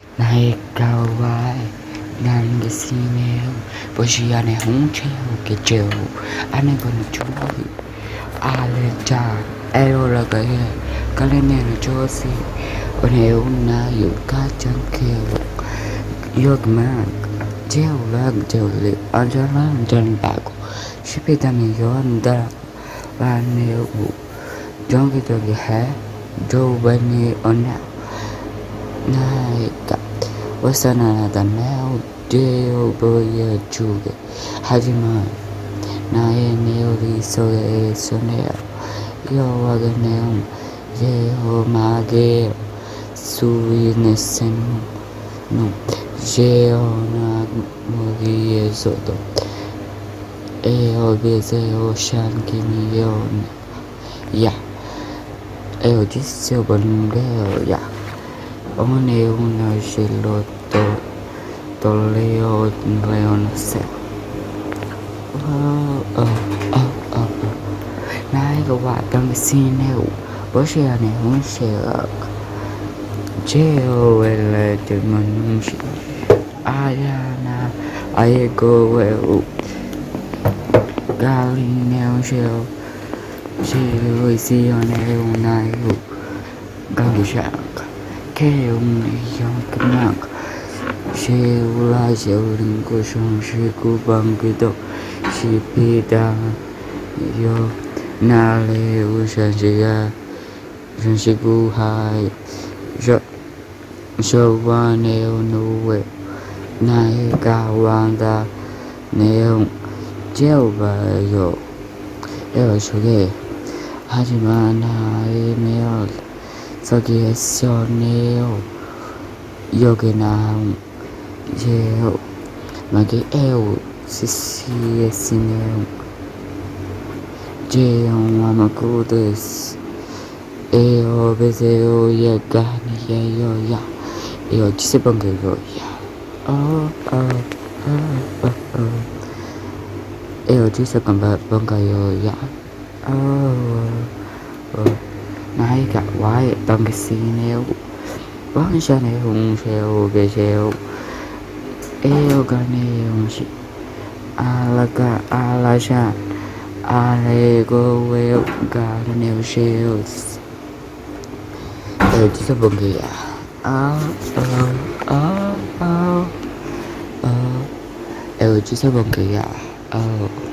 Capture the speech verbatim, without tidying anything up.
Này cao vai nàng cái xi nêu bởi vì anh ấy không treo cái treo anh ấy còn chú à lên cha eo là cái cái lên này là cho gì còn nếu na yêu cá chân kêu yêu mà treo là treo liệu anh cho nó anh cho bạc ship it anh yêu anh ta và nếu trong cái tôi cái hé đâu bên này anh nào này cả wasana tanao deo boya chuge hajima nae neo ri so e soneo yo waganeo yeo mage sui nesen no yeo na mogi soto e obese o shan kimi yo ya e o jisio bonge ya ông nêu nói chuyện lo to to leo leo nó sẽ ờ ờ ờ ờ này các bạn đang xin nêu bữa xe này không sẽ treo về là từ mình ai na ai go về gali nêu treo treo gì nêu này gali sạc kêu yang kenang siula siuling ko song si ku bang gitu si pida yo na le u san si ga san si ku hai so so wa neo nu we nai ka wang da neo treo và yo yo so ge hajima nai meo 저기에 sione요 여기 나온 제요 마게 에오 시시에 시네요 제요 아마쿠데스 에오 베세요 예가니예요 야 에오 지세방게요 야어어어어 에오 지세방가요 야어 này cả quái bằng cái xì neo bắn xa này hùng xèo về xèo eo cả neo xì a la cả a la xa a lê go weo cả neo xèo eo chỉ có bằng cái à ờ ờ ờ ờ eo chỉ có bằng cái à ờ